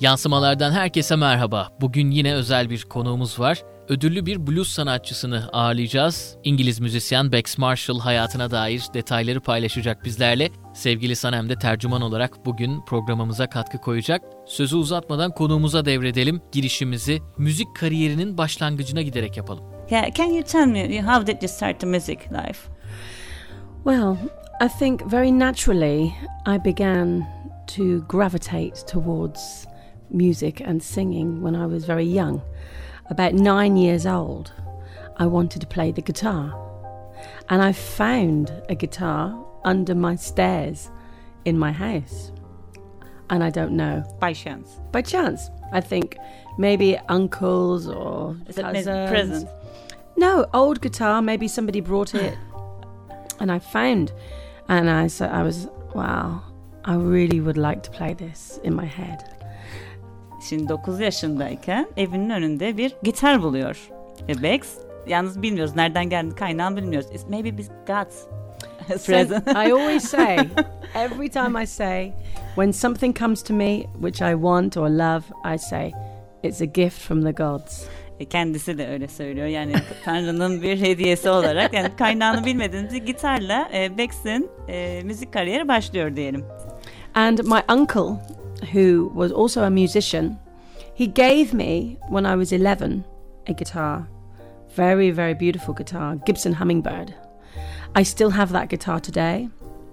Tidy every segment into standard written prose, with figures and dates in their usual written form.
Yansımalardan herkese merhaba. Bugün yine özel bir konuğumuz var. Ödüllü bir blues sanatçısını ağırlayacağız. İngiliz müzisyen Bex Marshall hayatına dair detayları paylaşacak bizlerle. Sevgili Sanem de tercüman olarak bugün programımıza katkı koyacak. Sözü uzatmadan konuğumuza devredelim. Girişimizi müzik kariyerinin başlangıcına giderek yapalım. Can you tell me how did you start the music life? Well, I think very naturally I began to gravitate towards music and singing when I was very young. About 9 years old, I wanted to play the guitar. And I found a guitar under my stairs in my house. And I don't know. By chance? By chance. I think maybe uncles or cousins. Present? No, old guitar. Maybe somebody brought it. And I found. And I was, wow, I really would like to play this in my head. Şimdi 9 yaşındayken evinin önünde bir gitar buluyor. Bex, yalnız bilmiyoruz nereden geldi, kaynağını bilmiyoruz. It's maybe God's present. I always say, every time I say, when something comes to me which I want or love, I say, it's a gift from the gods. Kendisi de öyle söylüyor. Yani Tanrı'nın bir hediyesi olarak, yani kaynağını bilmediğimiz bir gitarla Bex'in müzik kariyeri başlıyor diyelim. And my uncle, who was also a musician, he gave me, when I was 11, a guitar. Very, very beautiful guitar, Gibson Hummingbird. I still have that guitar today.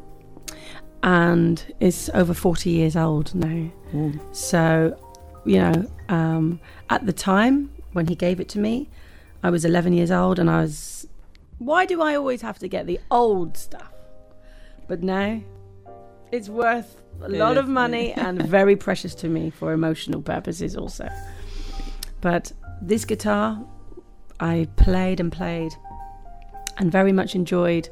And it's over 40 years old now. Ooh. So, you know, at the time when he gave it to me, I was 11 years old and I was, why do I always have to get the old stuff? But now, it's worth a lot of money and very precious to me for emotional purposes also. But this guitar, I played and very much enjoyed,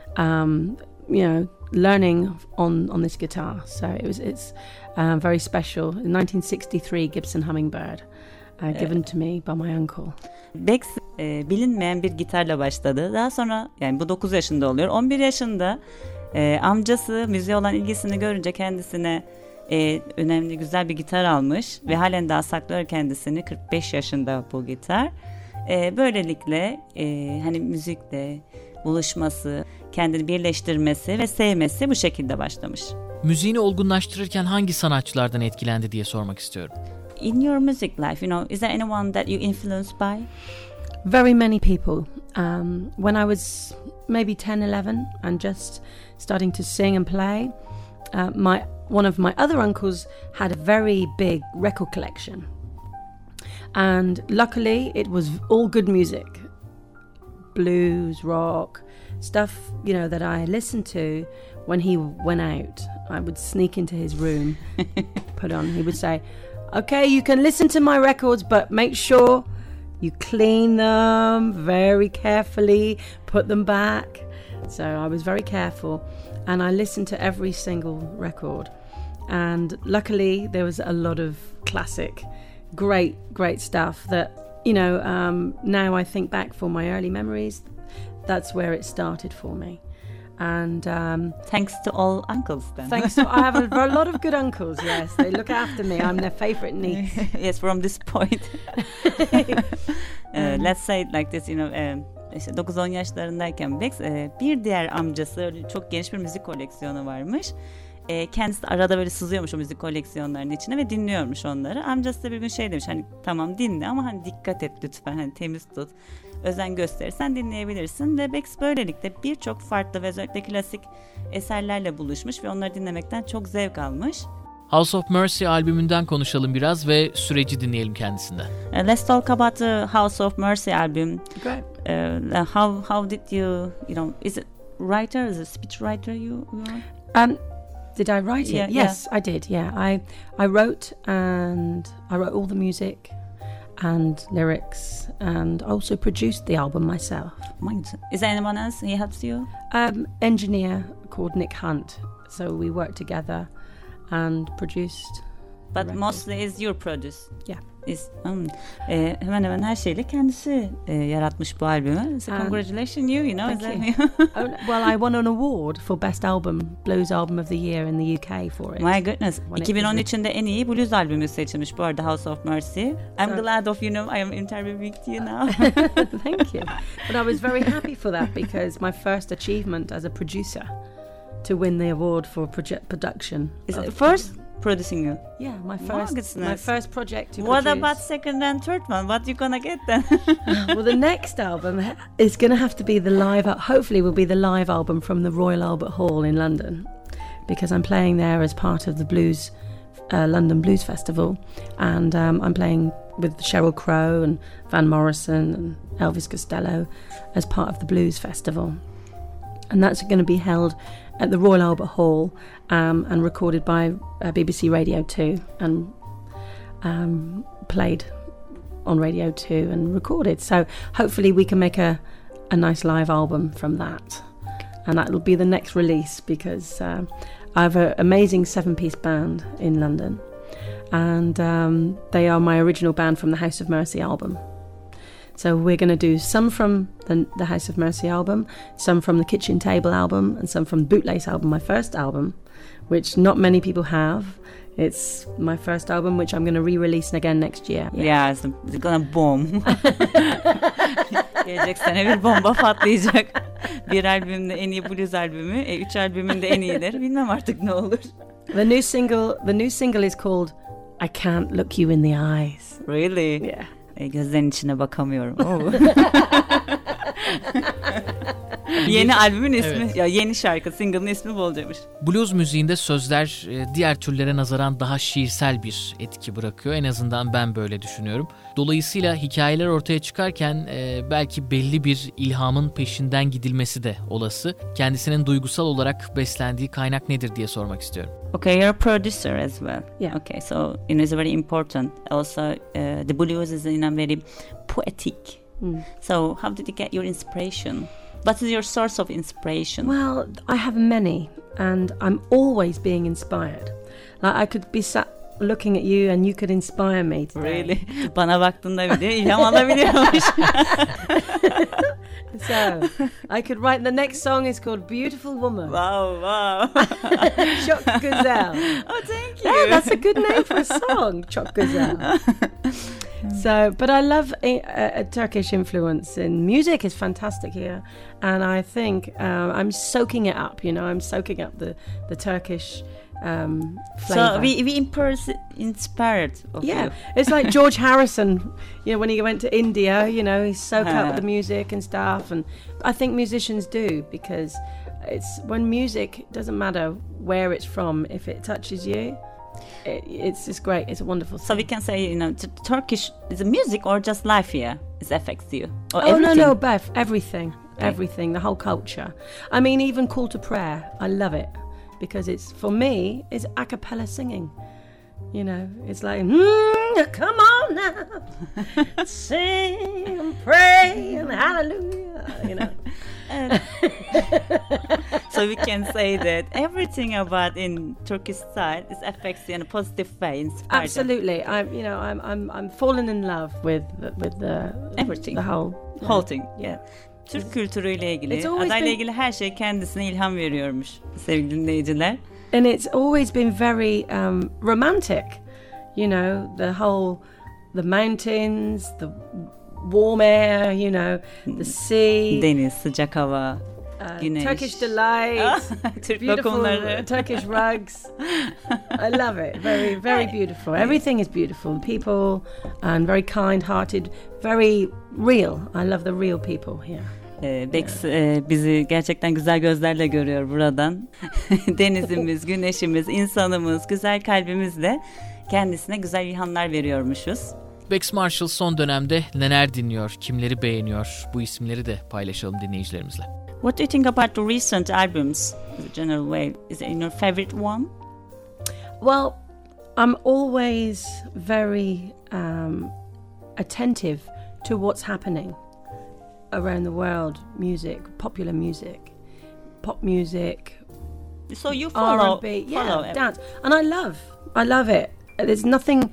learning on this guitar. So it's very special. In 1963 Gibson Hummingbird, given to me by my uncle. Bex bilinmeyen bir gitarla başladı. Daha sonra, yani bu 9 yaşında oluyor. 11 yaşında amcası müziğe olan ilgisini görünce kendisine önemli, güzel bir gitar almış ve halen daha saklıyor kendisini. 45 yaşında bu gitar. Böylelikle hani müzikle buluşması, kendini birleştirmesi ve sevmesi bu şekilde başlamış. Müziğini olgunlaştırırken hangi sanatçılardan etkilendi diye sormak istiyorum. In your music life, is there anyone that you influenced by? Very many people. When I was maybe 10-11 and just starting to sing and play, one of my other uncles had a very big record collection. And luckily it was all good music. Blues, rock, stuff, that I listened to when he went out. I would sneak into his room, put on. He would say, okay, you can listen to my records, but make sure you clean them very carefully, put them back. So I was very careful and I listened to every single record. And luckily there was a lot of classic, great stuff that, now I think back for my early memories, that's where it started for me. And thanks to all uncles then. I have a lot of good uncles, yes. They look after me. I'm their favorite niece. Yes, from this point. Let's say it like this, işte 9-10 yaşlarındayken Bex, bir diğer amcası, çok geniş bir müzik koleksiyonu varmış. Kendisi de arada böyle sızıyormuş o müzik koleksiyonlarının içine ve dinliyormuş onları. Amcası da bir gün şey demiş, hani tamam dinle ama hani dikkat et lütfen, hani temiz tut, özen gösterirsen dinleyebilirsin. Ve Bex böylelikle birçok farklı ve özellikle klasik eserlerle buluşmuş ve onları dinlemekten çok zevk almış. House of Mercy albümünden konuşalım biraz ve süreci dinleyelim kendisinden. Let's talk about the House of Mercy album. Great. How did you is it writer, is it speech writer you are? Did I write it? Yeah, yes, yeah. I did. Yeah, I wrote all the music and lyrics, and also produced the album myself. Is there anyone else he helps you? Engineer called Nick Hunt. So we worked together and produced. But mostly is your produce. Yeah. Hemen hemen her şeyle kendisi yaratmış bu albümü. So congratulations you know. Thank you. Well, I won an award for Best Album, Blues Album of the Year in the UK for it. My goodness. 2013'ünde en iyi blues albümü seçilmiş bu arada, House of Mercy. I'm glad of, I am interviewing you now. Thank you. But I was very happy for that because my first achievement as a producer to win the award for production. Is it first producing you? Yeah, my first project to What produce. about second and third one? What you gonna get then? Well, the next album is going to have to be hopefully will be the live album from the Royal Albert Hall in London, because I'm playing there as part of the London Blues Festival, and I'm playing with Sheryl Crow and Van Morrison and Elvis Costello as part of the Blues Festival. And that's going to be held at the Royal Albert Hall and recorded by BBC Radio 2 and played on Radio 2 and recorded. So hopefully we can make a nice live album from that. And that will be the next release because I have an amazing 7-piece band in London. And they are my original band from the House of Mercy album. So we're going to do some from the House of Mercy album, some from the Kitchen Table album, and some from Bootlace album, my first album, which not many people have. It's my first album, which I'm going to re-release again next year. Yeah, it's gonna boom. Gelecek sene bir bomba patlayacak. Bir albümde en iyi blues albümü, 3 albümün de en iyileri. Bilmem artık ne olur. The new single is called I Can't Look You in the Eyes. Really? Yeah. Gözlerin içine bakamıyorum. Yeni albümün ismi, ya yeni şarkı, single'ın ismi bu olacakmış. Blues müziğinde sözler diğer türlere nazaran daha şiirsel bir etki bırakıyor. En azından ben böyle düşünüyorum. Dolayısıyla hikayeler ortaya çıkarken belki belli bir ilhamın peşinden gidilmesi de olası. Kendisinin duygusal olarak beslendiği kaynak nedir diye sormak istiyorum. Okay, you're a producer as well. Yeah. Okay, so it's very important. Also, the blues is very poetic. So, how did you get your inspiration? What is your source of inspiration? Well, I have many, and I'm always being inspired. Like I could be sat looking at you, and you could inspire me today. Really? Bana baktığında bir de ilham alabiliyormuş. So, I could write the next song is called Beautiful Woman. Wow. Çok Güzel. Oh, thank you. Yeah, that's a good name for a song, Çok Güzel. So, but I love a Turkish influence in music. Is fantastic here, and I think I'm soaking it up. I'm soaking up the Turkish flavor. So we inspired of you. It's like George Harrison. When he went to India, he soaked up the music and stuff, and I think musicians do because it's when music doesn't matter where it's from, if it touches you. It's just great. It's a wonderful thing. So we can say, Turkish is a music or just life here? It affects you. Or everything? No, Beth. Everything. Okay. Everything. The whole culture. I mean, even Call to Prayer. I love it because for me, it's a cappella singing. It's like, come on now, sing and pray and hallelujah, So we can say that everything about in Turkish style is affects you in a positive way. Inspired. Absolutely, I'm falling in love with the everything, the whole thing. Yeah. Türk kültürüyle ilgili, adayla ilgili her şey kendisine ilham veriyormuş sevgili dinleyiciler. And it's always been very romantic, the mountains, the warm air, the sea. Deniz, sıcak hava, güneş. Turkish delights, Türk beautiful lokumları. Turkish rugs. I love it. Very, very beautiful. Everything is beautiful. People and very kind-hearted, very real. I love the real people here. Bex bizi gerçekten güzel gözlerle görüyor buradan. Denizimiz, güneşimiz, insanımız, güzel kalbimizle kendisine güzel ilhamlar veriyormuşuz. Bex Marshall son dönemde neler dinliyor, kimleri beğeniyor? Bu isimleri de paylaşalım dinleyicilerimizle. What do you think about the recent albums? In a general way, is it your favorite one? Well, I'm always very attentive to what's happening around the world, music, popular music, pop music. So you follow R&B, dance, and I love it. There's nothing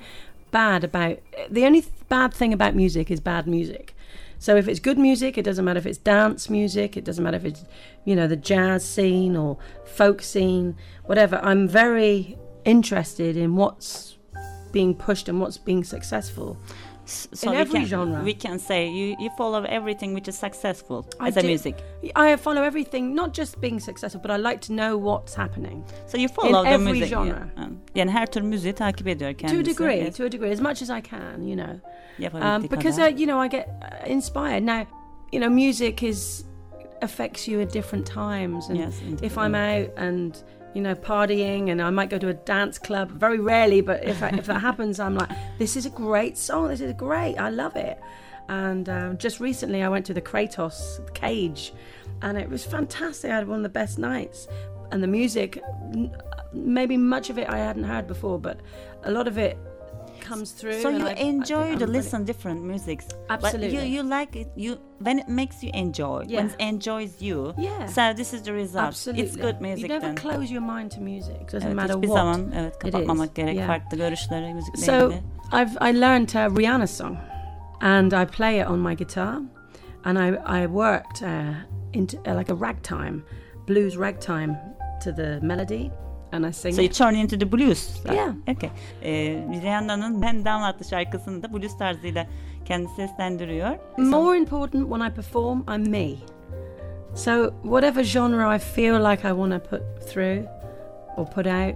bad about... The only bad thing about music is bad music. So if it's good music, it doesn't matter if it's dance music, it doesn't matter if it's, the jazz scene or folk scene, whatever. I'm very interested in what's being pushed and what's being successful. So in every genre. We can say you follow everything which is successful as a music. I follow everything, not just being successful, but I like to know what's happening. So you follow in the every music. genre. Yani her tür müziği takip ediyor kendisi. To a degree, as much as I can, because kadar. I get inspired. Now, music affects you at different times, and yes, if I'm out and partying, and I might go to a dance club, very rarely, but if that happens, I'm like, this is a great song, this is great, I love it. And just recently I went to the Kratos Cage, and it was fantastic. I had one of the best nights, and the music, maybe much of it I hadn't heard before, but a lot of it comes through. So you enjoy to listen different musics. Absolutely. But you like it when it makes you enjoy. Yeah. When it enjoys you. Yeah. So this is the result. Absolutely. It's good music. You never then. close your mind to music. Doesn't matter hiçbir what. zaman kapatmamak gerek. Yeah. Farklı görüşlere müzikle So ilgili. I learned a Rihanna song, and I play it on my guitar, and I worked into like a ragtime, blues ragtime to the melody. And I sing so you turn into the blues. Yeah. Okay. Rihanna'nın Ben Down adlı şarkısını da blues tarzıyla kendisi seslendiriyor. More important, when I perform, I'm me. So whatever genre I feel like I want to put through or put out,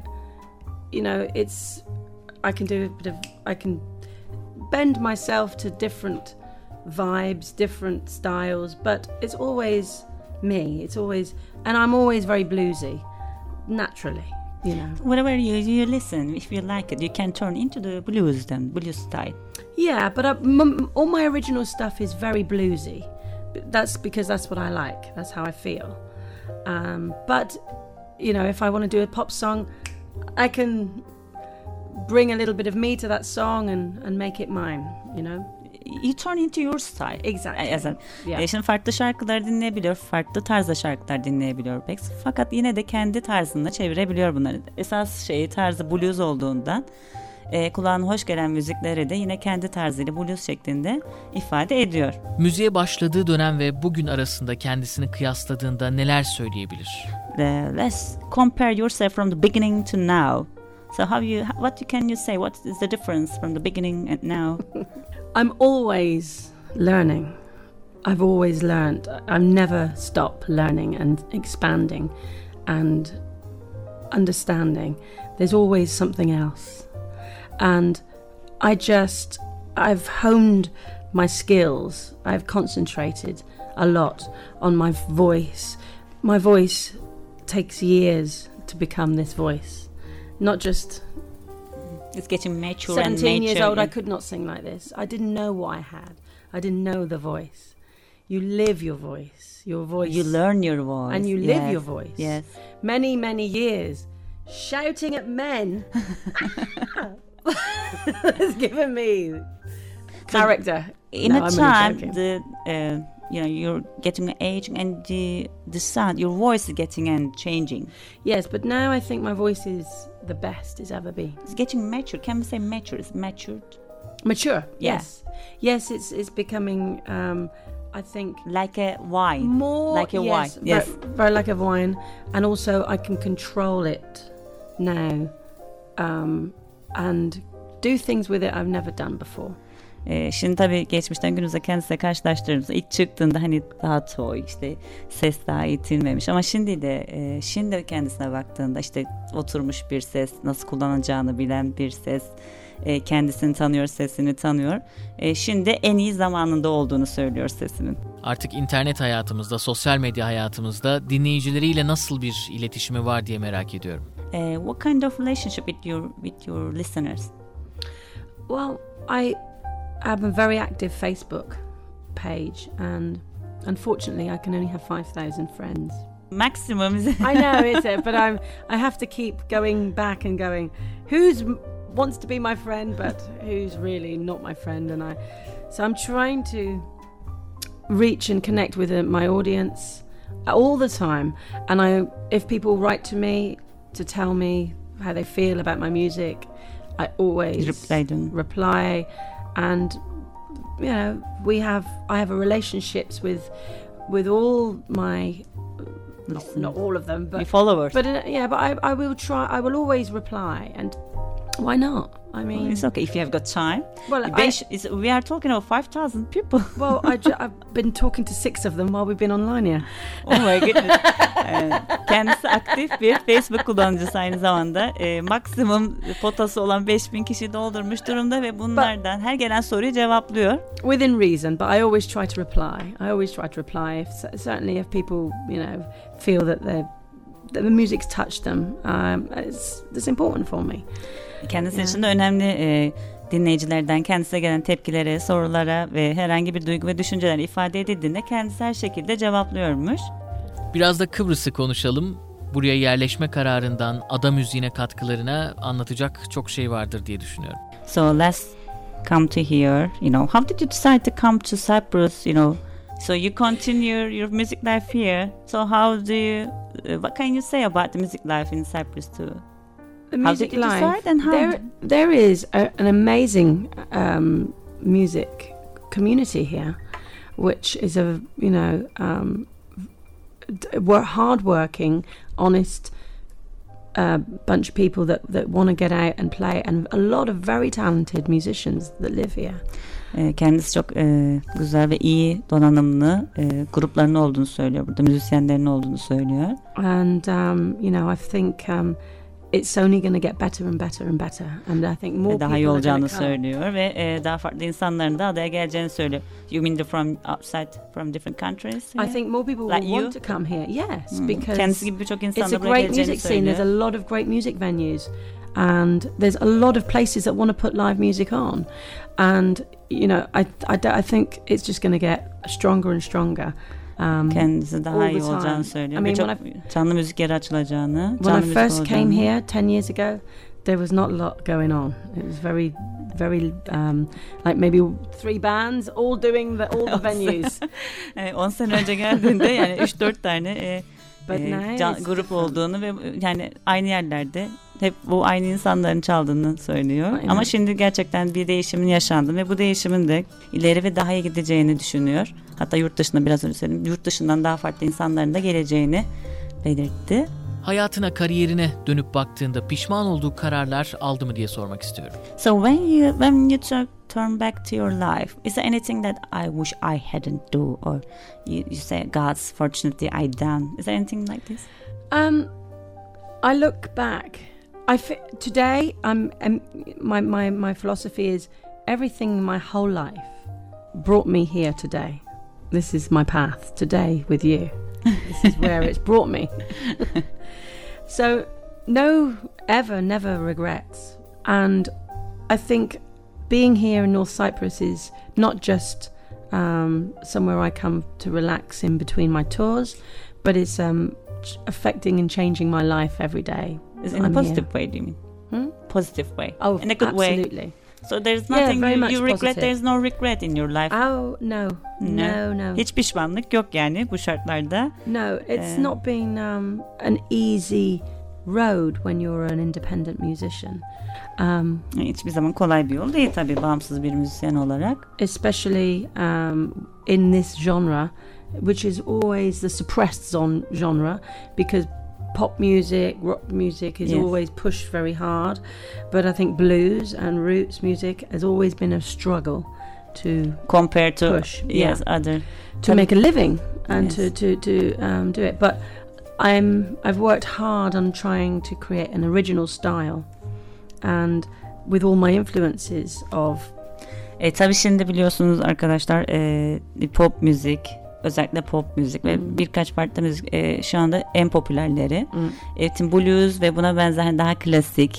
I can bend myself to different vibes, different styles, but it's always me. It's always, and I'm always very bluesy, naturally. Whatever you listen, if you like it, you can turn into the blues style. Yeah, but all my original stuff is very bluesy. That's because that's what I like. That's how I feel. But if I want to do a pop song, I can bring a little bit of me to that song and make it mine. You turn into your style. Exactly. Yeah. Şimdi farklı şarkılar dinleyebiliyor, farklı tarzda şarkılar dinleyebiliyor Bex. Fakat yine de kendi tarzında çevirebiliyor bunları. Esas tarzı blues olduğundan kulağına hoş gelen müzikleri de yine kendi tarzıyla blues şeklinde ifade ediyor. Müziğe başladığı dönem ve bugün arasında kendisini kıyasladığında neler söyleyebilir? Let's compare yourself from the beginning to now. So what can you say? What is the difference from the beginning and now? I'm always learning. I've always learned. I've never stopped learning and expanding and understanding. There's always something else. And I've honed my skills. I've concentrated a lot on my voice. My voice takes years to become this voice. Not just... It's getting mature 17 years old, I could not sing like this. I didn't know what I had. I didn't know the voice. You live your voice. Your voice. You learn your voice. And you live your voice. Yes. Many, many years shouting at men. It's given me character. In a time, you're getting aging and the sound, your voice is getting and changing. Yes, but now I think my voice is the best it's ever been. It's getting mature. Can we say mature? It's matured. Mature. Yeah. Yes. It's becoming. I think like a wine. More like a wine. Yes. Very like a wine, and also I can control it now, and do things with it I've never done before. Şimdi tabii geçmişten günümüze kendisiyle karşılaştırdığımızda ilk çıktığında hani daha toy, ses daha eğitilmemiş, ama şimdi de kendisine baktığında oturmuş bir ses, nasıl kullanacağını bilen bir ses, kendisini tanıyor, sesini tanıyor. Şimdi en iyi zamanında olduğunu söylüyor sesinin. Artık internet hayatımızda, sosyal medya hayatımızda dinleyicileriyle nasıl bir iletişimi var diye merak ediyorum. What kind of relationship with your listeners? Well, I have a very active Facebook page, and unfortunately I can only have 5,000 friends. Maximum. I know, but I have to keep going back and going, who's wants to be my friend but who's really not my friend, so I'm trying to reach and connect with my audience all the time, and if people write to me to tell me how they feel about my music, I always reply, and you know, I have a relationships with all my not all of them, but followers. But I will try. I will always reply, and why not? I mean, it's okay if you have got time. Well, we are talking about 5,000 people. Well, I've been talking to 6 of them while we've been online here. Oh my goodness. Kendisi aktif bir Facebook kullanıcısı aynı zamanda. Maksimum potası olan 5.000 kişi doldurmuş durumda ve bunlardan her gelen soruyu cevaplıyor. Within reason, but I always try to reply. Certainly if people, you know, feel that the music's touched them, it's important for me. Kendisi için de önemli dinleyicilerden kendisine gelen tepkilere, sorulara ve herhangi bir duygu ve düşünceler ifade edildiğinde kendisi her şekilde cevaplıyormuş. Biraz da Kıbrıs'ı konuşalım. Buraya yerleşme kararından ada müziğine katkılarına anlatacak çok şey vardır diye düşünüyorum. So let's come to here. You know, how did you decide to come to Cyprus? You know, so you continue your music life here. So how do you? What can you say about the music life in Cyprus too? The music life. And how? There is an amazing music community here, which is hard-working, honest bunch of people that want to get out and play, and a lot of very talented musicians that live here. Kendisi çok güzel ve iyi donanımlı grupların olduğunu söylüyor. Burada müzisyenlerin olduğunu söylüyor. And I think it's only going to get better and better and better, and I think more daha iyi olacağını söylüyor ve daha farklı insanların da adaya geleceğini söylüyor. You mean from outside, from different countries? I think more people will want to come here. Yes, because kendisi gibi birçok insan da buraya geleceğini söylüyor. It's a great music scene. There's a lot of great music venues, and there's a lot of places that want to put live music on, and I think it's just going to get stronger and stronger. Kendisi daha iyi olacağını söylüyor. Birçok canlı müzik yeri açılacağını. When I first came here 10 years ago, there was not a lot going on. It was very, very like maybe 3 bands all doing all the venues. 10 sene önce geldiğinde yani 3-4 tane grup olduğunu ve yani aynı yerlerde hep bu aynı insanların çaldığını söylüyor. Aynen. Ama şimdi gerçekten bir değişimin yaşandı ve bu değişimin de ileri ve daha iyi gideceğini düşünüyor. Hatta yurt dışında biraz önce söyledim. Yurt dışından daha farklı insanların da geleceğini belirtti. Hayatına, kariyerine dönüp baktığında pişman olduğu kararlar aldı mı diye sormak istiyorum. So when you turn back to your life, is there anything that I wish I hadn't do, or you say God's fortunately I done? Is there anything like this? I look back. Today, my philosophy is everything my whole life brought me here today. This is my path today with you. This is where it's brought me. So, never regrets. And I think being here in North Cyprus is not just somewhere I come to relax in between my tours, but it's affecting and changing my life every day. In a positive way, do you mean? Positive way. Oh, in a good way. Absolutely. So there's nothing you regret. Positive. There's no regret in your life. Oh no. Hiç pişmanlık yok yani bu şartlarda. No, it's not been an easy road when you're an independent musician. Hiçbir zaman kolay bir yol değil tabii bağımsız bir müzisyen olarak. Especially in this genre, which is always the suppressed genre, because pop music, rock music is always pushed very hard, but I think blues and roots music has always been a struggle to compared to push, other to make a living and to do it. But I've worked hard on trying to create an original style, and with all my influences of. Tabii şimdi biliyorsunuz arkadaşlar pop müzik. Özellikle pop müzik ve birkaç farklı müzik şu anda en popülerleri. Blues ve buna benzer daha klasik,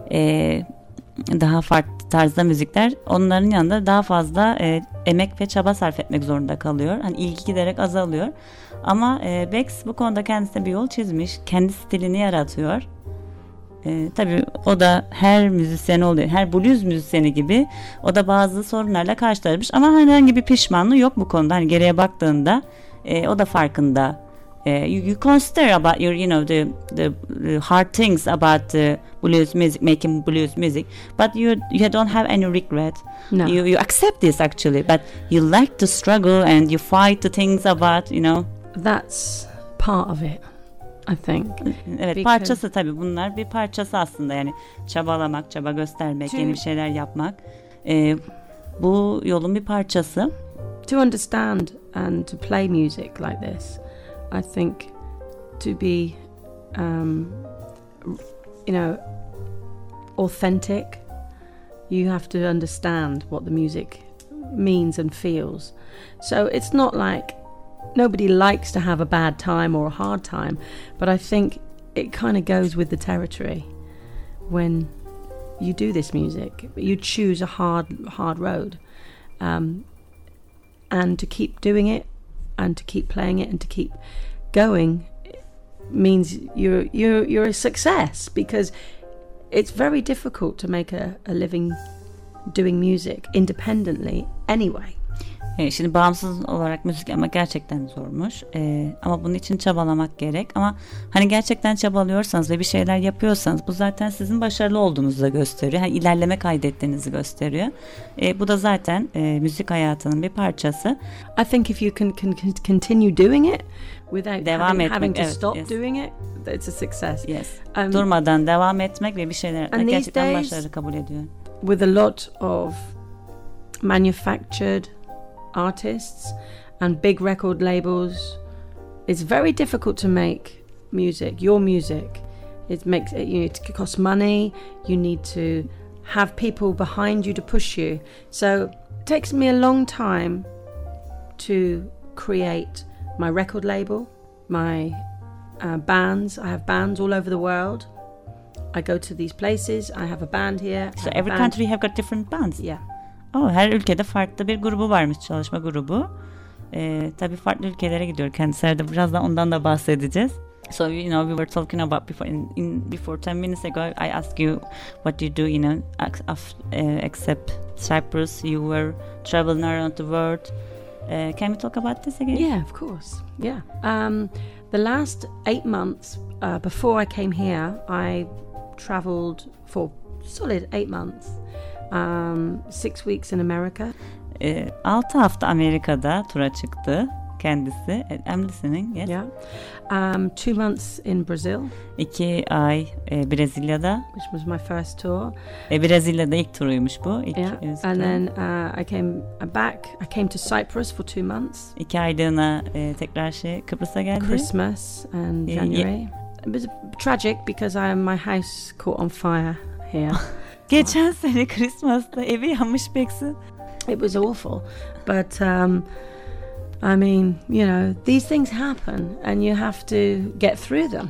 daha farklı tarzda müzikler. Onların yanında daha fazla emek ve çaba sarf etmek zorunda kalıyor. Hani ilgi giderek azalıyor. Ama Bex bu konuda kendisine bir yol çizmiş. Kendi stilini yaratıyor. Tabii o da her müzisyen oluyor. Her blues müzisyeni gibi o da bazı sorunlarla karşılaşmış ama herhangi bir pişmanlığı yok bu konuda. Hani geriye baktığında o da farkında You consider about your, the hard things about the blues music, making blues music, but you don't have any regret. No. You accept this actually, but you like to struggle and you fight the things about, That's part of it, I think. Evet, Because- parçası tabii, bunlar bir parçası aslında, yani çabalamak, çaba göstermek, yeni bir şeyler yapmak. Bu yolun bir parçası. To understand and to play music like this, I think to be, authentic, you have to understand what the music means and feels. So it's not like nobody likes to have a bad time or a hard time, but I think it kind of goes with the territory when you do this music. You choose a hard road. And to keep doing it and to keep playing it and to keep going means you're a success, because it's very difficult to make a living doing music independently anyway. Şimdi bağımsız olarak müzik yapmak gerçekten zormuş. Ama bunun için çabalamak gerek. Ama hani gerçekten çabalıyorsanız ve bir şeyler yapıyorsanız, bu zaten sizin başarılı olduğunuzu da gösteriyor. Yani ilerleme kaydettiğinizi gösteriyor. Bu da zaten müzik hayatının bir parçası. I think if you can continue doing it without having to evet, stop yes. doing it, it's a success. Yes. Durmadan devam etmek ve bir şeyler And gerçekten these days, başarılı kabul ediyor. With a lot of manufactured artists and big record labels, it's very difficult to make music, your music. It makes it, it costs money. You need to have people behind you to push you. So it takes me a long time to create my record label, my bands. I have bands all over the world. I go to these places. I have a band here. So every country have got different bands. Yeah. Her ülkede farklı bir grubu varmış, çalışma grubu. Tabii farklı ülkelere gidiyor kendisi de, birazdan ondan da bahsedeceğiz. So we were talking about before 10 minutes ago I asked you what you do, except Cyprus, you were traveling around the world. Can we talk about this again? Yeah, of course. Yeah. The last 8 months before I came here, I traveled for solid 8 months. 6 weeks in America. 6 hafta Amerika'da tura çıktı kendisi. I'm listening. Yes. Yeah. 2 months in Brazil. 2 ay Brezilya'da. Which was my first tour. Brezilya'da ilk turuymuş bu. And then I came to Cyprus for 2 months. 2 aylığına tekrar Kıbrıs'a geldi. Christmas and January. It was tragic because my house caught on fire here. Geçen sene Christmas'ta evi yanmış Bex'in. It was awful, but I mean, these things happen, and you have to get through them.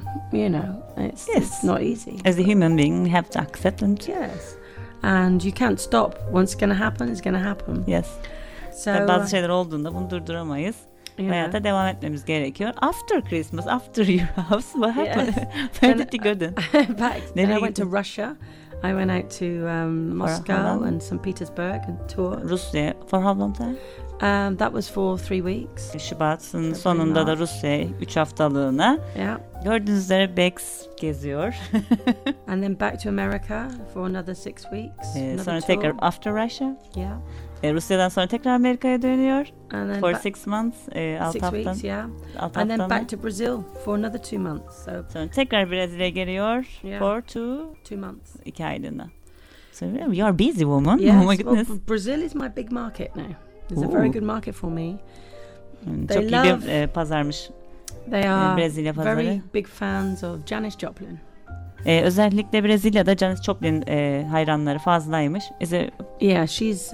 It's not easy. As a human being, we have to accept them. Yes, and you can't stop. Once it's going to happen, it's going to happen. Yes. So bazı şeyler olduğunda bunu durduramayız. Hayata devam etmemiz gerekiyor. After Christmas, after your house, what happened? Yes. Where did you go then? Then I went to Russia. I went out to Moscow and St. Petersburg and toured. Rusya, for how long time? That was for 3 weeks. Şubat'ın sonunda da Rusya'ya 3 haftalığına. Yeah. Gördüğünüz üzere Bex geziyor. And then back to America for another 6 weeks. Sonra tekrar after Russia. Yeah. Rusya'dan sonra tekrar Amerika'ya dönüyor. And then for 6 months. 6 weeks, yeah. And then back to Brazil for another 2 months. Sonra tekrar Brezilya'ya geliyor. For 2 months. 2 aylığına. So you are busy woman. Yes, oh my goodness. Well, Brazil is my big market now. It's a very good market for me. Çok iyi bir pazarmış. They are Brezilya pazarı. Very big fans of Janis Joplin. Özellikle Brezilya'da Janis Joplin hayranları fazlaymış. Yeah, she's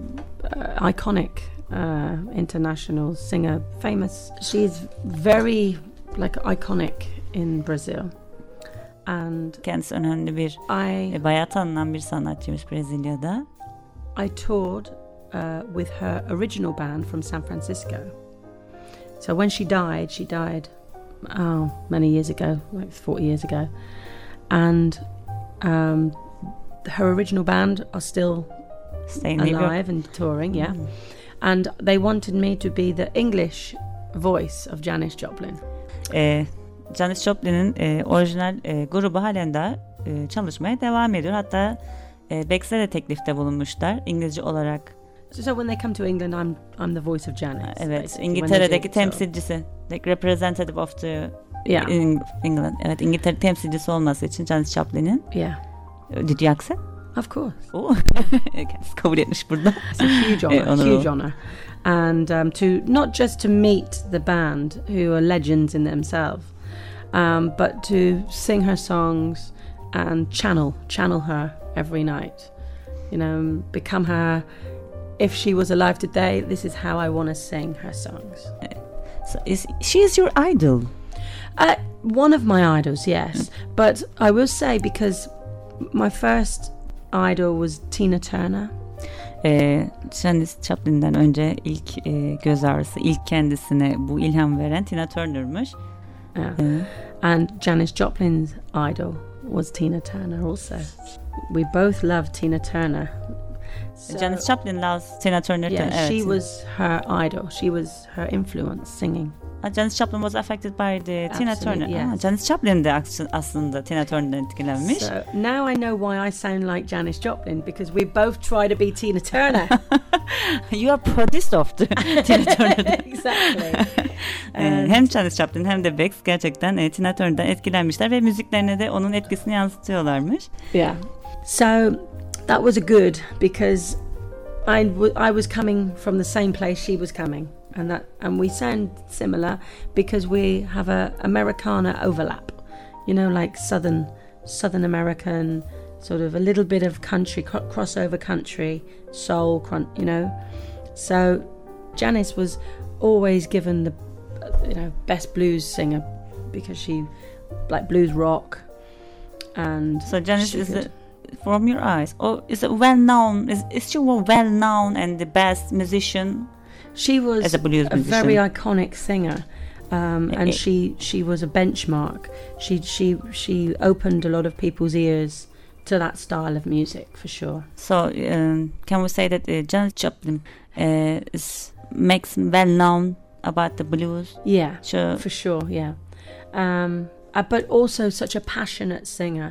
iconic international singer, famous. She's very iconic in Brazil. And kendisi önemli bir bayağı tanınan bir sanatçıymış Brezilya'da. I toured with her original band from San Francisco. So when she died many years ago, like 40 years ago. And her original band are still alive and touring, yeah. And they wanted me to be the English voice of Janis Joplin. Janis Joplin'in orijinal grubu halen daha çalışmaya devam ediyor. Hatta Bex'e de teklifte bulunmuşlar İngilizce olarak. So when they come to England, I'm the voice of Janis. Evet, İngiltere'deki temsilcisi, like representative of the England. Evet, İngiltere temsilcisi olması için Janis Joplin'in. Yeah. Did you accept? Of course. Oh, kabul etmiş burada. It's a huge honor, huge honor, and to not just to meet the band who are legends in themselves, but to sing her songs and channel her every night. You know, become her. If she was alive today, this is how I want to sing her songs. So she is your idol? One of my idols, yes. But I will say, because my first idol was Tina Turner. Janis Joplin'den önce ilk göz ağrısı, ilk kendisine bu ilham veren Tina Turner'mış. And Janis Joplin's idol was Tina Turner also. We both love Tina Turner. So, Janis Joplin loves Tina Turner. Yeah, she was her idol. She was her influence singing. Janis Joplin was affected by the Tina Turner. Yes. Janis Joplin de aslında Tina Turner'dan etkilenmiş. So now I know why I sound like Janis Joplin, because we both try to be Tina Turner. You are produced of the Tina Turner. Exactly. Hem Janis Joplin hem de Bex gerçekten Tina Turner'dan etkilenmişler ve müziklerine de onun etkisini yansıtıyorlarmış. Yeah. So that was a good, because I was coming from the same place she was coming. And we sound similar because we have a Americana overlap, you know, like Southern American, sort of a little bit of country, crossover country, soul, you know. So Janis was always given the, best blues singer because she like blues rock. And so Janis is from your eyes, or is it well known? Is she well known and the best musician? She was as a blues musician, very iconic singer, and she was a benchmark. She opened a lot of people's ears to that style of music, for sure. So can we say that Janis Joplin makes well known about the blues? Yeah, sure. For sure. Yeah, but also such a passionate singer.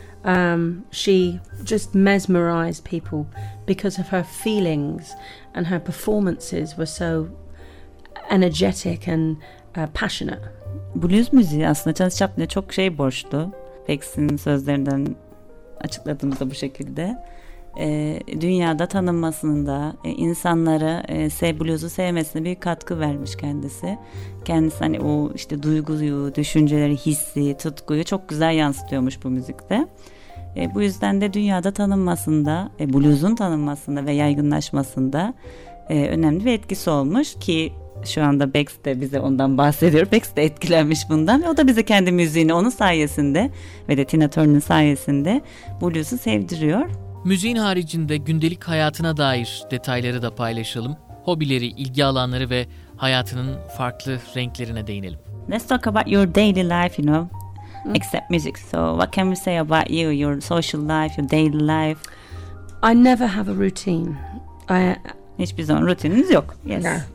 She just mesmerized people because of her feelings, and her performances were so energetic and passionate. Blues müziği aslında Janis Joplin'e çok borçlu. Bex'in sözlerinden açıkladığımızda bu şekilde. Dünyada tanınmasında, insanları blues'u sevmesine büyük katkı vermiş kendisi. Kendisi hani o duyguyu, düşünceleri, hissi, tutkuyu çok güzel yansıtıyormuş bu müzikte. Bu yüzden de dünyada tanınmasında, blues'un tanınmasında ve yaygınlaşmasında önemli bir etkisi olmuş ki şu anda Bex de bize ondan bahsediyor. Bex de etkilenmiş bundan ve o da bize kendi müziğini onun sayesinde ve de Tina Turner'ın sayesinde blues'u sevdiriyor. Müziğin haricinde gündelik hayatına dair detayları da paylaşalım. Hobileri, ilgi alanları ve hayatının farklı renklerine değinelim. Let's talk about your daily life, except music. So what can we say about you, your social life, your daily life? I never have a routine. Hiçbir zaman rutininiz yok. Yes. No.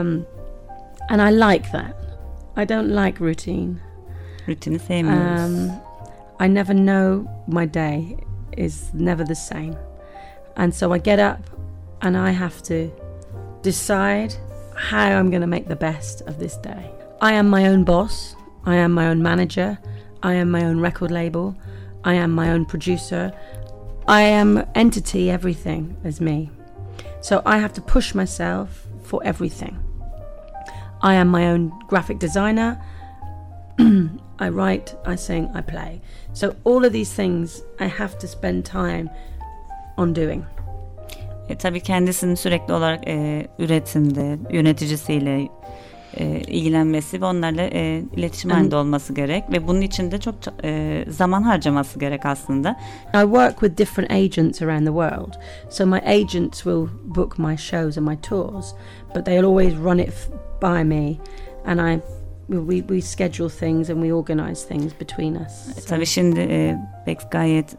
And I like that. I don't like routine. Rutini sevmiyoruz. I never know my day is never the same. And so I get up and I have to decide how I'm going to make the best of this day. I am my own boss. I am my own manager. I am my own record label. I am my own producer. I am entity, everything is me. So I have to push myself for everything. I am my own graphic designer. I write, I sing, I play. So all of these things I have to spend time on doing. Tabii kendisinin sürekli olarak üretimde, yöneticisiyle ilgilenmesi ve onlarla iletişim halinde olması gerek ve bunun için de çok zaman harcaması gerek aslında. I work with different agents around the world. So my agents will book my shows and my tours, but they'll always run it by me, and we schedule things and we organize things between us. Tabii şimdi Bex gayet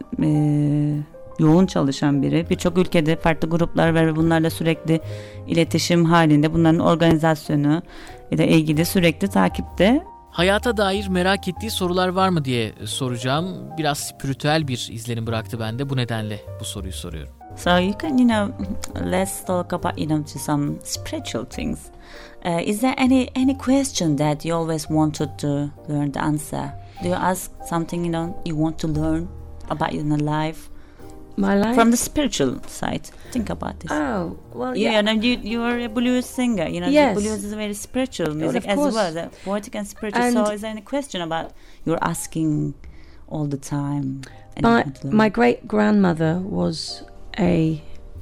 yoğun çalışan biri. Birçok ülkede farklı gruplar var ve bunlarla sürekli iletişim halinde. Bunların organizasyonu ile ilgili sürekli takipte. Hayata dair merak ettiği sorular var mı diye soracağım. Biraz spiritüel bir izlenim bıraktı bende. Bu nedenle bu soruyu soruyorum. So you can, let's talk about, to some spiritual things. Is there any question that you always wanted to learn the answer? Do you ask something, you want to learn about in life? My life? From the spiritual side. Think about this. Oh, well, yeah. You are a blues singer. Yes. Blues is a very spiritual music of course. as well. Poetic and spiritual. And so is there any question about you're asking all the time? My great-grandmother was a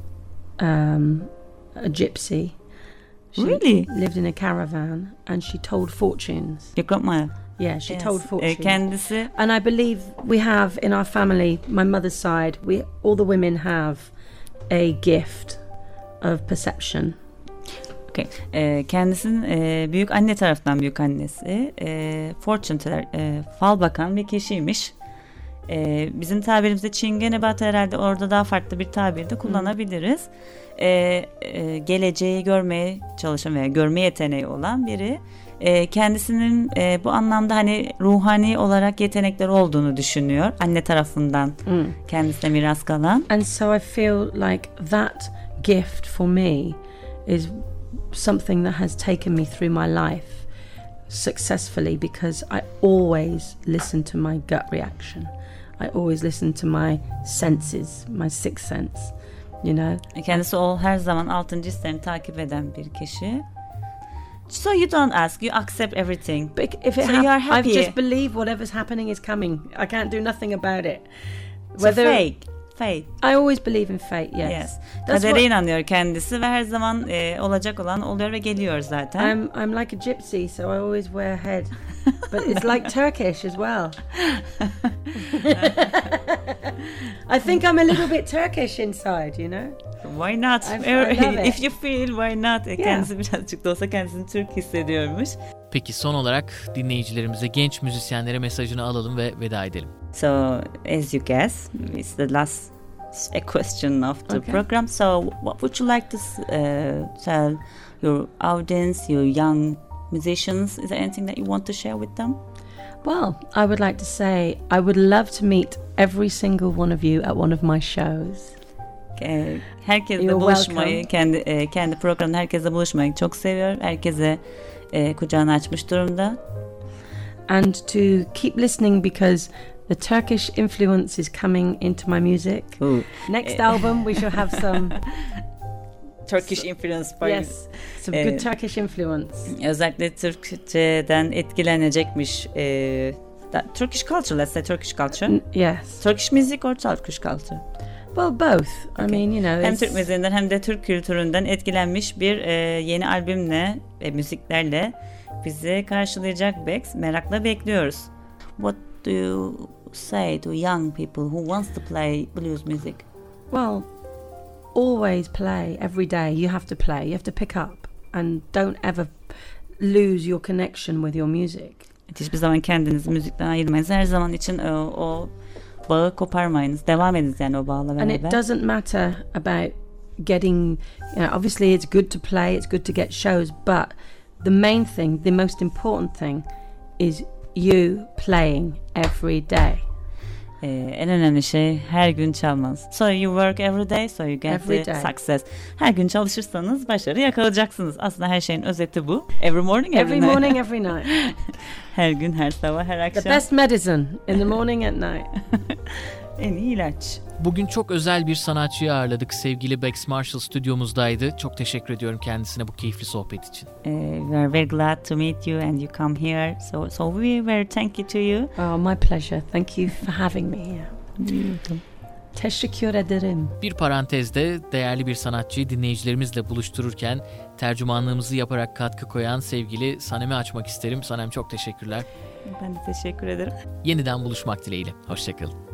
gypsy. She Really? lived in a caravan and she told fortunes. Your grandma? Yeah, she told fortunes. Kendisi. And I believe we have in our family, my mother's side, all the women have a gift of perception. Okay. Kendisinin büyük anne tarafından büyük annesi fortune teller, fal bakan bir kişiymiş. Bizim tabirimizde çingenebat herhalde orada daha farklı bir tabir de kullanabiliriz. Geleceği görmeye çalışan veya görme yeteneği olan biri. Kendisinin bu anlamda hani ruhani olarak yetenekler olduğunu düşünüyor. Anne tarafından kendisine miras kalan. And so I feel like that gift for me is something that has taken me through my life successfully because I always listen to my gut reaction. I always listen to my senses, my sixth sense, Kendisi her zaman altıncı hislerini takip eden bir kişi. So you don't ask, you accept everything. But if it so you are happy. I just believe whatever's happening is coming. I can't do nothing about it. So fate. I always believe in fate, yes. Kadere inanıyor kendisi ve her zaman olacak olan oluyor ve geliyor zaten. I'm like a gypsy, so I always wear a head. But it's like Turkish as well. I think I'm a little bit Turkish inside, Why not? I love it. If you feel, why not? Kendisi birazcık da olsa kendisini Türk hissediyormuş. Peki son olarak dinleyicilerimize, genç müzisyenlere mesajını alalım ve veda edelim. So, as you guess, it's the last question of the program. So, what would you like to tell your audience, your young musicians? Is there anything that you want to share with them? Well, I would like to say I would love to meet every single one of you at one of my shows. Herkesle buluşmayı, kendi programında herkesle buluşmayı çok seviyor. Herkese kucağını açmış durumda. And to keep listening because the Turkish influence is coming into my music. Next album we shall have some Turkish influence. Yes, some good Turkish influence. Özellikle Türkçeden etkilenecekmiş. Turkish culture, let's say Turkish culture. Yes. Turkish music or Turkish culture? Well, both. I mean, hem Türk müziğinden hem de Türk kültüründen etkilenmiş bir yeni albümle, müziklerle bizi karşılayacak Bex. Merakla bekliyoruz. What do you say to young people who wants to play blues music? Well, always play every day. You have to play. You have to pick up and don't ever lose your connection with your music. Hiçbir zaman kendinizi müzikten ayırmayınız. Her zaman için o bağı koparmayınız. Devam ediniz yani o bağla beraber. And it doesn't matter about getting, obviously it's good to play, it's good to get shows, but the main thing, the most important thing is you playing every day. En önemli şey her gün çalmanız. So you work every day, so you get the success. Her gün çalışırsanız başarı yakalayacaksınız. Aslında her şeyin özeti bu. Every morning, every night. Every morning, every night. Her gün, her sabah, her akşam. The best medicine in the morning at night. En iyi ilaç. Bugün çok özel bir sanatçıyı ağırladık. Sevgili Bex Marshall stüdyomuzdaydı. Çok teşekkür ediyorum kendisine bu keyifli sohbet için. We are very glad to meet you and you come here. So we very thank you to you. Oh, my pleasure. Thank you for having me here. Teşekkür ederim. Bir parantezde değerli bir sanatçıyı dinleyicilerimizle buluştururken tercümanlığımızı yaparak katkı koyan sevgili Sanem'i açmak isterim. Sanem çok teşekkürler. Ben de teşekkür ederim. Yeniden buluşmak dileğiyle. Hoşçakalın.